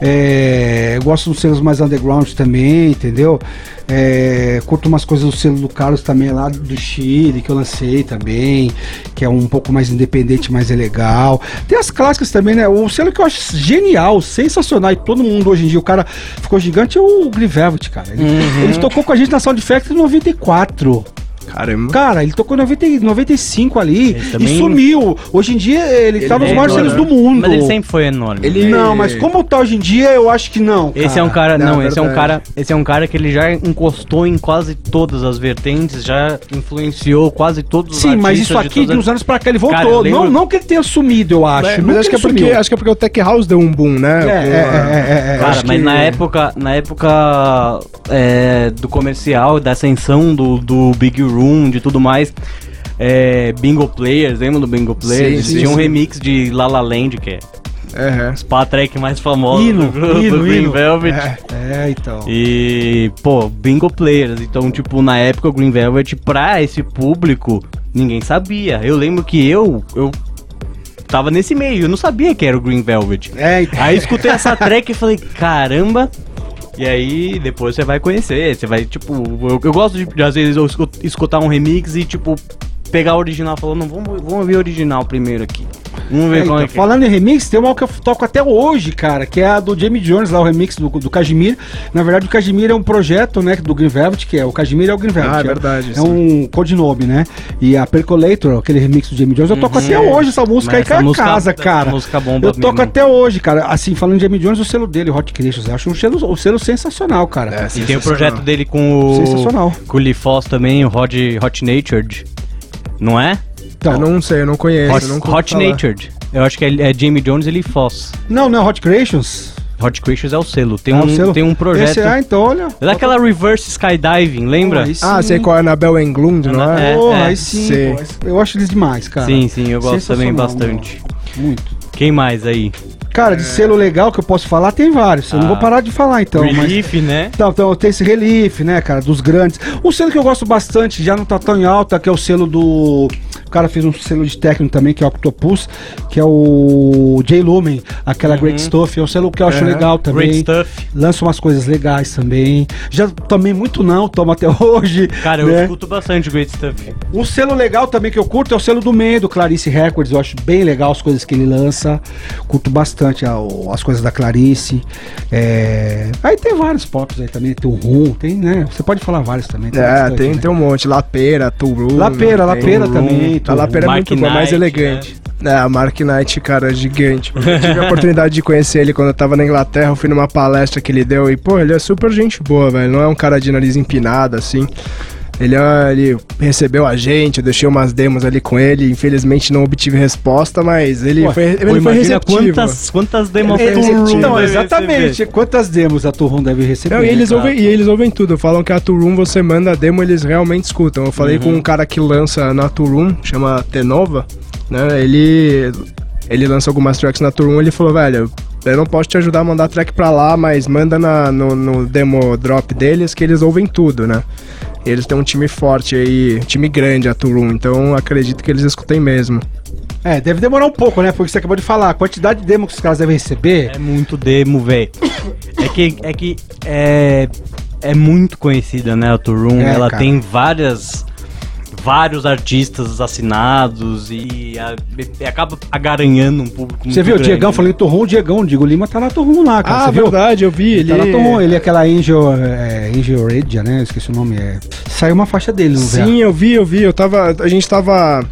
é, eu gosto dos selos mais underground também, entendeu? É, curto umas coisas do selo do Carlos também lá do Chile, que eu lancei também, que é um pouco mais independente, mas é legal. Tem as clássicas também, né? O selo que eu acho genial, sensacional, e todo mundo hoje em dia, o cara ficou gigante, é o Green Velvet, cara. Ele, uhum. ele tocou com a gente na Sound Factory em noventa e quatro. Caramba. Cara, ele tocou em noventa, noventa e cinco ali também... e sumiu. Hoje em dia ele, ele tá nos é maiores selos do mundo. Mas ele sempre foi enorme. Ele... Não, mas como tá hoje em dia, eu acho que não. Cara. Esse é um cara, não, não é esse é um cara, esse é um cara que ele já encostou em quase todas as vertentes, já influenciou quase todos os Sim, mas isso aqui de uns anos pra cá ele voltou. Cara, lembro... não, não que ele tenha sumido, eu acho. Mas, mas acho, que é porque, acho que é porque o Tech House deu um boom, né? É, é, é, é, é, cara, mas que... na época, na época é, do comercial, da ascensão do, do Big Room, de tudo mais. É, Bingo Players, lembra do Bingo Players? Sim, sim, tinha um sim. remix de La La Land, que é uhum. os Patrick mais famosos hino, do, do hino, Green hino. Velvet. É, é, então. E, pô, Bingo Players. Então, tipo, na época o Green Velvet, pra esse público, ninguém sabia. Eu lembro que eu, eu tava nesse meio, eu não sabia que era o Green Velvet. É, então. Aí escutei essa track e falei, caramba. E aí, depois você vai conhecer, você vai, tipo... Eu, eu gosto de, de, às vezes, eu escutar um remix e, tipo, pegar o original e falar, não, vamos, vamos ouvir o original primeiro aqui. Vamos ver é, então, é que falando em remix, tem uma que eu toco até hoje, cara, que é a do Jamie Jones, lá, o remix do, do Kashmir. Na verdade, o Kashmir é um projeto, né, do Green Velvet, que é o Kashmir é o Green Velvet. Ah, é é verdade. É um codinome, né? E a Percolator, aquele remix do Jamie Jones, eu toco uhum. até hoje essa música aí, cai a casa, cara. Música bomba eu toco mesmo. Até hoje, cara. Assim, falando de Jamie Jones, o selo dele, o Hot Christians, eu acho um selo, um selo sensacional, cara. É, e tem o projeto dele com o... Sensacional. Com o Lee Foss também, o Hot, Hot Natured, não é? Então, eu não sei, eu não conheço. Hot, não Hot Natured. Eu acho que é, é Jamie Jones e Lee Foss. Não, não é Hot Creations? Hot Creations é o selo. Tem, é um, o selo. tem um projeto. Esse é, então, olha. É daquela Reverse Skydiving, lembra? Oh, ah, sei qual é, Anabel Englund, não é? É, oh, é. Aí sim, pô, eu acho eles demais, cara. Sim, sim, eu gosto também bastante. Meu. Muito. Quem mais aí? Cara, de selo legal que eu posso falar, tem vários. Eu ah, não vou parar de falar, então. Relief, mas... né? Então, então, tem esse Relief, né, cara, dos grandes. Um selo que eu gosto bastante, já não tá tão em alta, que é o selo do... O cara fez um selo de técnico também, que é o Octopus, que é o J Lumen, aquela uhum. Great Stuff. É um selo que eu acho uhum. legal também. Great Stuff. Lança umas coisas legais também. Já tomei muito não, tomo até hoje. Cara, né? eu escuto bastante Great Stuff. Um selo legal também que eu curto é o selo do Meio, do Clarice Records. Eu acho bem legal as coisas que ele lança. Curto bastante a, as coisas da Clarice. É... Aí tem vários pops aí também. Tem o Rum, tem, né? Você pode falar vários também. Tem é, bastante, tem, né? Tem um monte. Lapera, Turu. Lapera, Lapera também. A Lapera é muito boa, mais elegante. Né? É, a Mark Knight, cara, é gigante. Eu tive a oportunidade de conhecer ele quando eu tava na Inglaterra. Eu fui numa palestra que ele deu e, pô, ele é super gente boa, velho. Não é um cara de nariz empinado, assim. Ele, ele recebeu a gente, eu deixei umas demos ali com ele, infelizmente não obtive resposta, mas ele Pô, foi, ele pô, foi receptivo. Quantas, quantas demos Ele a foi receptivo. Não, deve exatamente. receber? Quantas demos a Turrum deve receber? Não, e, eles né, ouvem, e eles ouvem tudo, falam que a Turum você manda a demo, eles realmente escutam. Eu falei Uhum. com um cara que lança na Turum, chama Tenova, né, ele, ele lança algumas tracks na Turum, ele falou, velho, eu não posso te ajudar a mandar track pra lá, mas manda na, no, no demo drop deles que eles ouvem tudo, né. E eles têm um time forte aí, time grande a Turum, então acredito que eles escutem mesmo. É, deve demorar um pouco, né? Porque você acabou de falar, a quantidade de demo que os caras devem receber. É muito demo, velho. É que, é que é, é muito conhecida, né, a Turum. É, ela cara. tem várias... vários artistas assinados e, a- e acaba agaranhando um público muito Você viu o grande, Diegão, né? falei em Turrum, o Diegão, o Diego Lima tá na Turrum lá, cara. Ah, você viu? verdade, eu vi, Ele ele... tá na Turrum, ele é aquela Angel, é, Angel Regia, né? Eu esqueci o nome. É... Saiu uma faixa dele, não vê? Sim, eu vi, eu vi, eu tava, a gente tava...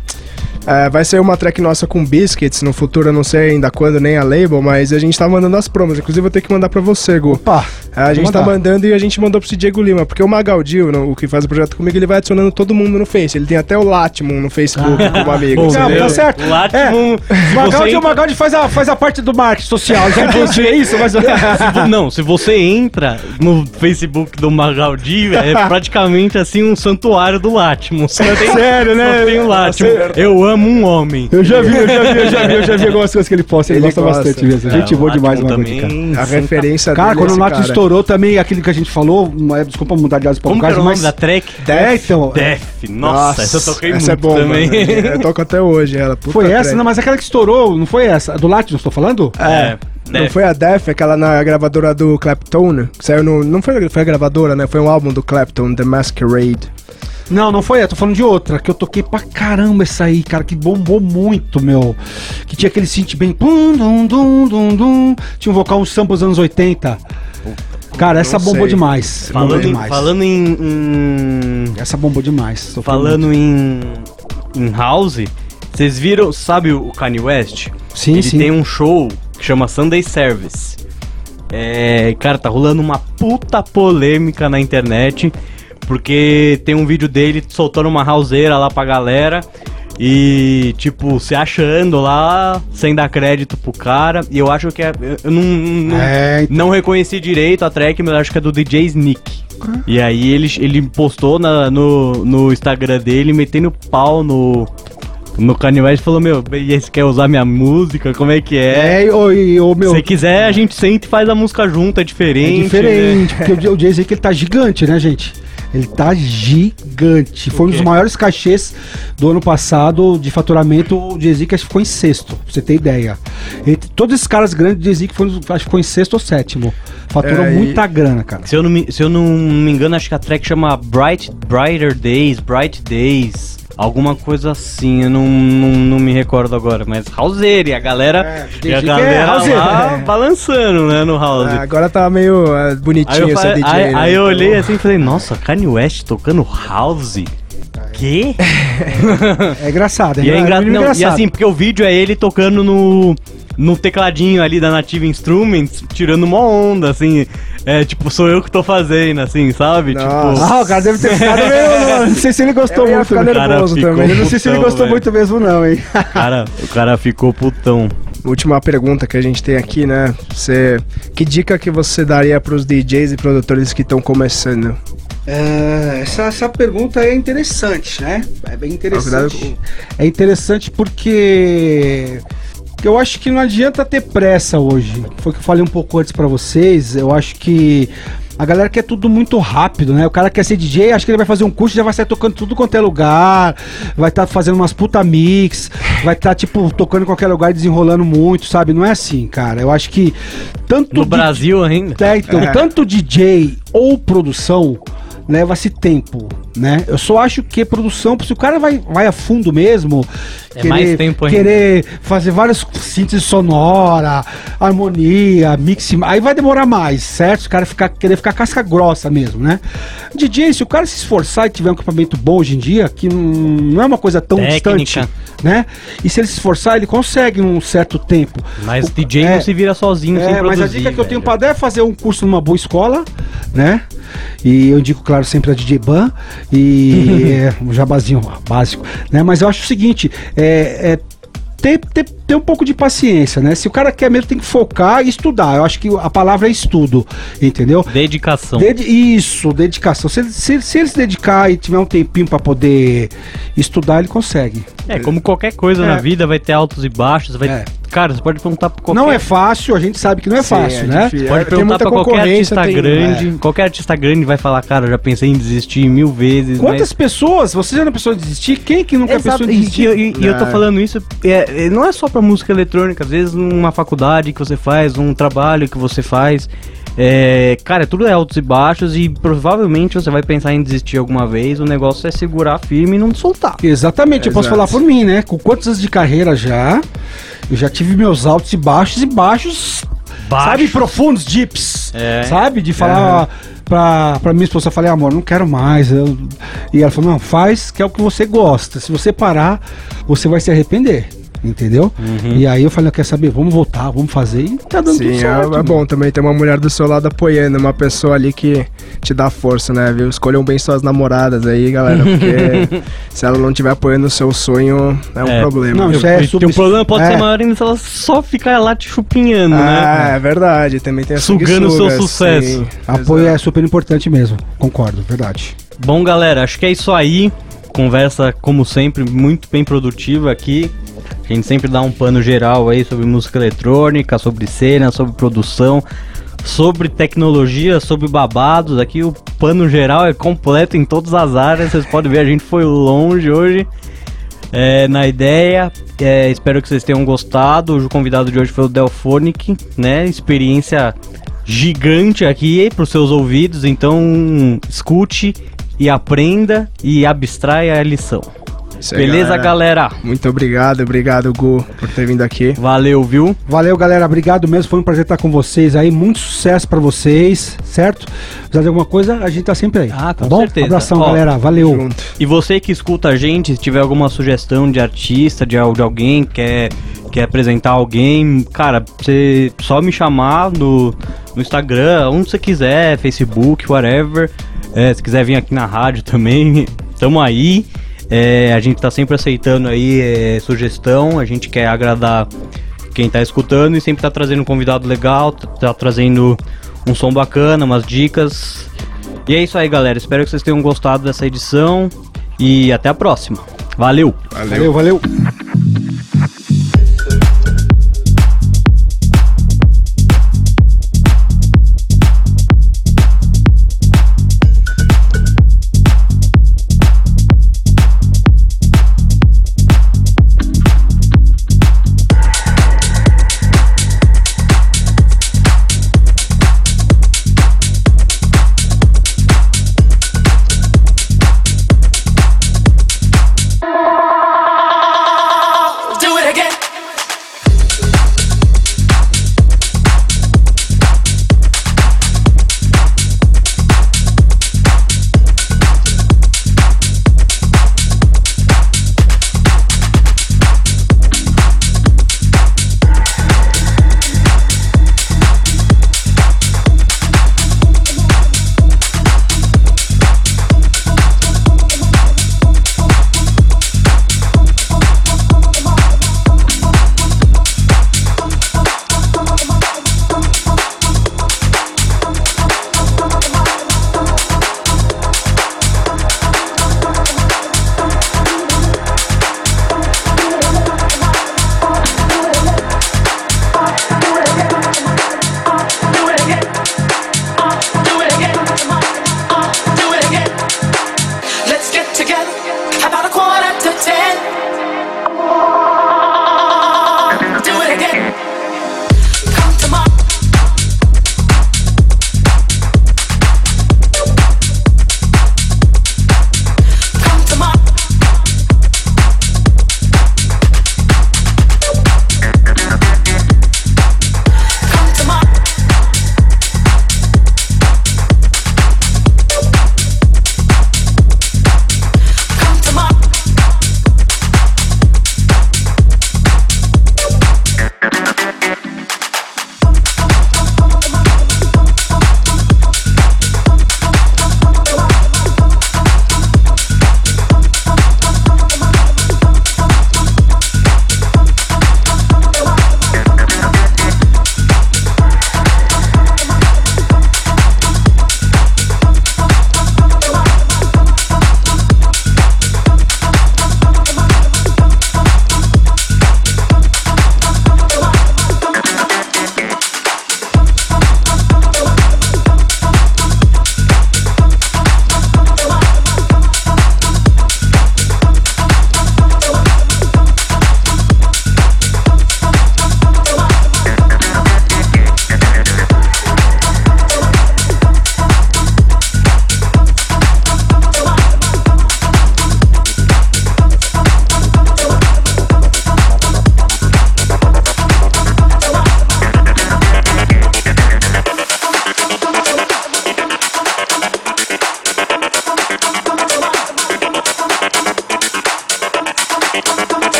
é, vai sair uma track nossa com Biscuits no futuro, eu não sei ainda quando, nem a label, mas a gente tá mandando as promos, inclusive vou ter que mandar pra você, Gu. Opa! É, a gente mandar. tá mandando e a gente mandou pro Diego Lima, porque o Magaldil, no- o que faz o projeto comigo, ele vai adicionando todo mundo no Face, ele tem até o Latimon no Facebook como amigo, Bom, Não, entendeu? tá certo. O Latimon... O Magaldi, o Magaldi faz a, faz a parte do marketing social, já entendi é isso, mas... Se vo- não, se você entra no Facebook do Magaldi, é praticamente assim um santuário do Latimon. Só tem, Sério, né? Só tem o Latimon. Eu amo um homem. Eu já vi, eu já vi, eu já vi, eu já vi algumas coisas que ele posta, ele, Ele gosta, gosta. bastante mesmo. Gente É, boa o demais o Latimon Magaldi, cara. também, A santa- referência Cara, dele quando é o esse Nath cara. estourou também, aquilo que a gente falou, uma- desculpa mudar de assunto Como que era o nome mas... da track? É, então... Def. Nossa, essa eu toquei essa muito é bomba, também. né? Eu toco até hoje ela. puta Foi essa? track. Não, mas aquela que estourou, não foi essa? A do Latin, não estou falando? É, Não Def. foi a Def, aquela na gravadora do Clapton, que saiu no... Não foi, foi a gravadora, né? Foi um álbum do Clapton, The Masquerade. Não, não foi essa, tô falando de outra, que eu toquei pra caramba essa aí, cara, que bombou muito, meu. Que tinha aquele synth bem... Pum, dum, dum, dum, dum. Tinha um vocal, um sample dos anos oitenta. Cara, essa não bombou sei. demais. bombou Falando, em, demais. falando em, em- Essa bombou demais. tô falando em, em house, vocês viram, sabe o Kanye West? Sim, Ele sim. tem um show que chama Sunday Service. É, cara, tá rolando uma puta polêmica na internet, porque tem um vídeo dele soltando uma houseira lá pra galera e, tipo, se achando lá, sem dar crédito pro cara. E eu acho que é. Eu não, não, É, então. não reconheci direito a track, mas eu acho que é do D J Sneak. E aí ele, ele postou na- no, no Instagram dele, metendo pau no, no Kanye West e falou: Meu, e esse quer usar minha música? Como é que é? É, e o, e o meu... Se quiser, a gente senta e faz a música junto, é É diferente. diferente, né? porque o Jay-Z que ele tá gigante, né, gente? Ele tá gigante. Foi um dos quê? maiores cachês do ano passado de faturamento. O Jay-Z que acho que ficou em sexto, pra você ter ideia. Entre todos esses caras grandes, o Jay-Z que foi, acho que ficou em sexto ou sétimo. Faturou É, e- muita grana, cara. Se eu, não me, se eu não me engano, acho que a track chama Bright, Brighter Days, Bright Days. Alguma coisa assim, eu não, não, não me recordo agora, mas houseira, e a galera, É, e a D J que é galera houseira. lá balançando, né, no house. Ah, agora tá meio ah, Aí bonitinho eu, esse falei- D J, aí, né? aí eu Então- olhei assim e falei, nossa, Kanye West tocando house? Que? É engraçado, é, E é engra... é não, engraçado. e assim, porque o vídeo é ele tocando no, no tecladinho ali da Native Instruments, tirando uma onda, assim. É tipo, sou eu que tô fazendo, assim, sabe? Nossa. Tipo. Ah, o cara deve ter ficado meio... Não sei se ele gostou Eu ia muito. ficar né? nervoso ficou também. Eu não sei se ele putão, gostou velho. muito mesmo, não, hein? Cara, o cara ficou putão. Última pergunta que a gente tem aqui, né? Você, que dica que você daria pros D Js e produtores que estão começando? É, essa, essa pergunta é interessante, né? É bem interessante. cuidado É interessante porque eu acho que não adianta ter pressa hoje. Foi o que eu falei um pouco antes pra vocês. Eu acho que a galera quer tudo muito rápido, né? O cara quer ser D J, acha que ele vai fazer um curso e já vai sair tocando tudo quanto é lugar, vai estar fazendo umas puta mix, vai estar, tipo, tocando em qualquer lugar e desenrolando muito, sabe? Não é assim, cara. Eu acho que tanto No D- Brasil ainda. é, então, É. tanto D J ou produção leva-se tempo, né? Eu só acho que produção, se o cara vai, vai a fundo mesmo, É mais tempo ainda. querer fazer várias síntese sonora, harmonia, mix, aí vai demorar mais, certo? O cara ficar, querer ficar casca grossa mesmo, né? D J, se o cara se esforçar e tiver um equipamento bom hoje em dia, que não, não é uma coisa tão Técnica. distante, né? E se ele se esforçar, ele consegue num certo tempo. Mas O- D J é, não se vira sozinho sem É, mas produzir. a dica que eu tenho velho. pra dar é fazer um curso numa boa escola, né? E eu indico, claro, sempre a D J Ban e é, um jabazinho básico, né? Mas eu acho o seguinte, é... é Ter, ter, ter um pouco de paciência, né? Se o cara quer mesmo, tem que focar e estudar. Eu acho que a palavra é estudo, entendeu? Dedicação. Dedi- isso, dedicação. Se, se, se ele se dedicar e tiver um tempinho pra poder estudar, ele consegue. É, como qualquer coisa É. na vida, vai ter altos e baixos. Vai... É. Cara, você pode perguntar pra qualquer... Não é fácil, a gente sabe que não é Sim, fácil, é né? difícil. Pode Tem perguntar muita pra qualquer concorrência, artista tem- grande. é. Qualquer artista grande vai falar, cara, eu já pensei em desistir mil vezes. Quantas mas... pessoas, você já não pensou em desistir? Quem que nunca Exato, pensou em e, desistir? e- e eu tô É. falando isso, é, é, não é só pra música eletrônica, às vezes numa faculdade que você faz, um trabalho que você faz, é, cara, tudo é altos e baixos e provavelmente você vai pensar em desistir alguma vez, o negócio é segurar firme e não soltar. Exatamente, eu posso Exato. falar por mim, né? Com quantos anos de carreira já, eu já tive meus altos e baixos e baixos, Baixos. sabe, profundos, dips, É. sabe? De falar pra, pra minha esposa, eu falei, amor, não quero mais. eu- E ela falou, não, faz que é o que você gosta. Se você parar, você vai se arrepender. Entendeu? Uhum. E aí eu falei, quer saber? Vamos voltar, vamos fazer. E tá dando tudo Sim, certo. é, é bom também ter uma mulher do seu lado apoiando, uma pessoa ali que te dá força, né, viu? Escolham bem suas namoradas aí, galera, porque se ela não estiver apoiando o seu sonho, é um É. problema. Não, viu? isso é E super- o problema pode é. ser maior ainda se ela só ficar lá te chupinhando, Ah, né? é verdade, também tem a Sugando o seu sanguessuga, sucesso. sim, Apoio exato. é super importante mesmo. Concordo, verdade. Bom, galera, acho que é isso aí. Conversa, como sempre, muito bem produtiva aqui. A gente sempre dá um pano geral aí sobre música eletrônica, sobre cena, sobre produção, sobre tecnologia, sobre babados. Aqui o pano geral é completo em todas as áreas. Vocês podem ver, a gente foi longe hoje é, na ideia. É, espero que vocês tenham gostado. O convidado de hoje foi o Delphonic, né? Experiência gigante aqui para os seus ouvidos. Então escute e aprenda e abstraia a lição. Isso aí, Beleza, galera? Muito obrigado, obrigado, Gu, por ter vindo aqui. Valeu, viu? Valeu, galera. Obrigado mesmo. Foi um prazer estar com vocês aí. Muito sucesso pra vocês, certo? Precisar de alguma coisa, a gente tá sempre aí. Ah, com tá bom? certeza. Abração, Ó, galera. Valeu. Junto. E você que escuta a gente, se tiver alguma sugestão de artista, de, al- de alguém, quer, quer apresentar alguém, cara, você só me chamar no, no Instagram, onde você quiser, Facebook, whatever. É, se quiser vir aqui na rádio também, tamo aí. É, a gente tá sempre aceitando aí é, sugestão, a gente quer agradar quem tá escutando e sempre tá trazendo um convidado legal, tá, tá trazendo um som bacana, umas dicas. E é isso aí, galera. Espero que vocês tenham gostado dessa edição e até a próxima. Valeu! Valeu, valeu.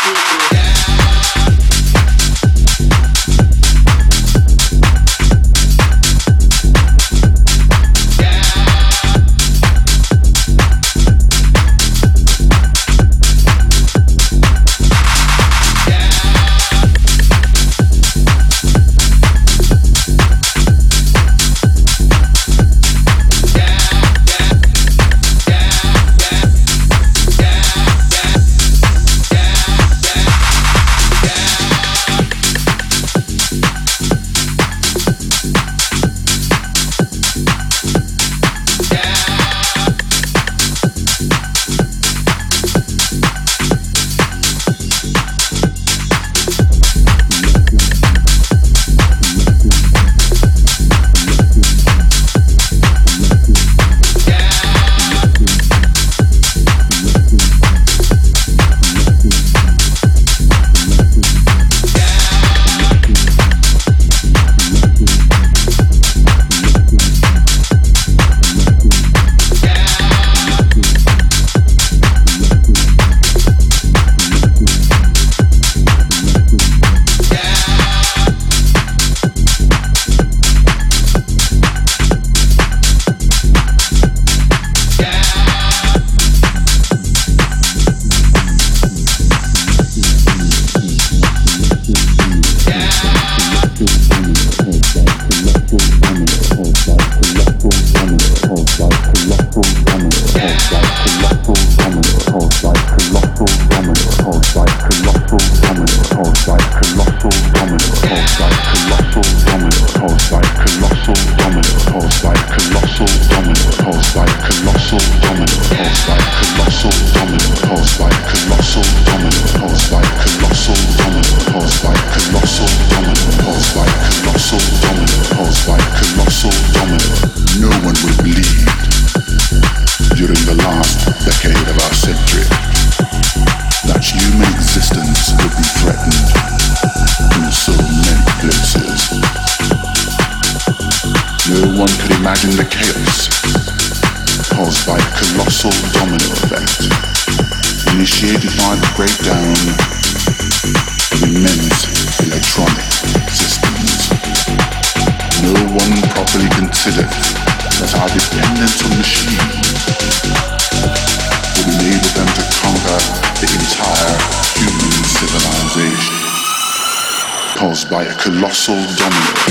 By a colossal domino.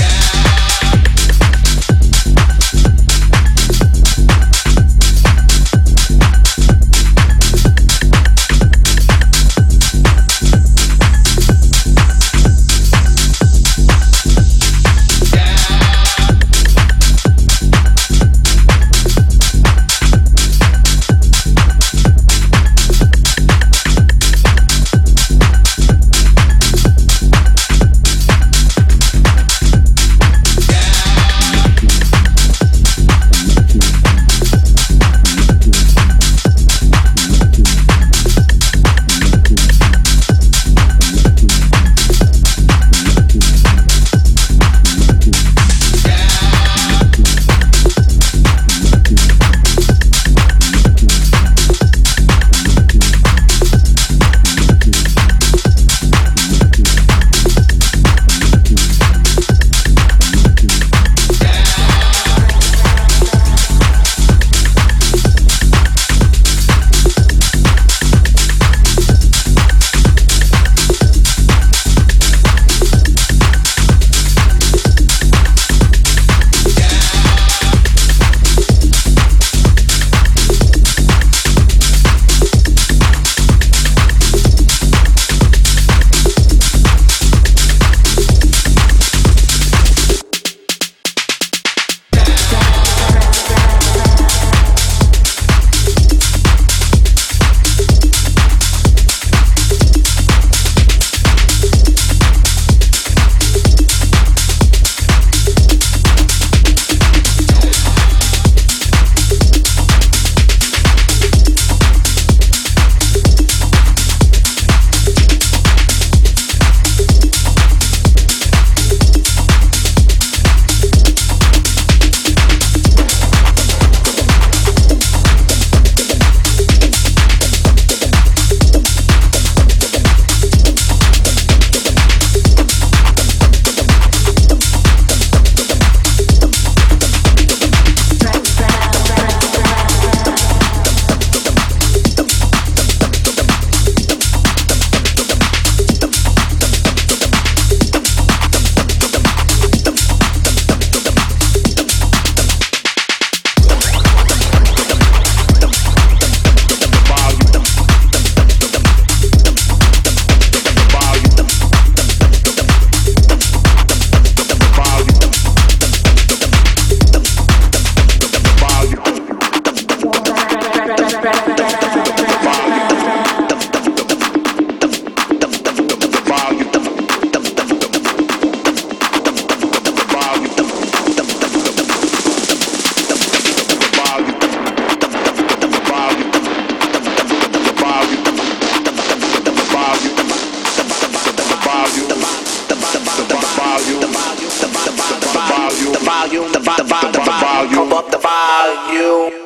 the volume, the volume, pump up the volume.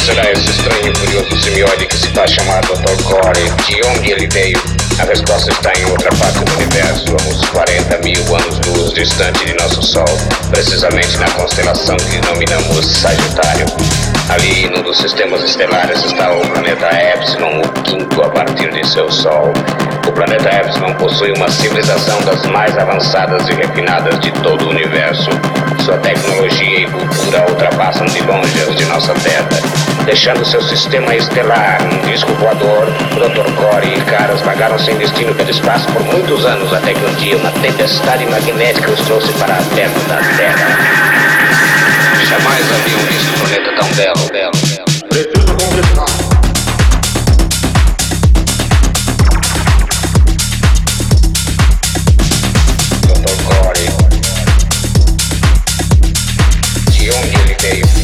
será esse estranho e curioso semióide que se faz chamar doutor Corey? De onde ele veio? A resposta está em outra parte do universo, a uns quarenta mil anos-luz distante de nosso Sol, precisamente na constelação que denominamos Sagitário. Ali, num dos sistemas estelares, está o planeta Epsilon, o quinto a partir de seu Sol. O planeta Epsilon possui uma civilização das mais avançadas e refinadas de todo o universo. Sua tecnologia e cultura ultrapassam de longe as de nossa Terra. Deixando seu sistema estelar, um disco voador, o doutor Corey e caras vagaram sem destino pelo espaço por muitos anos, até que um dia uma tempestade magnética os trouxe para a perto da Terra. Jamais haviam visto um planeta tão belo, belo, belo. Preciso conversar. doutor Corey. De onde ele veio?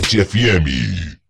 sete F M.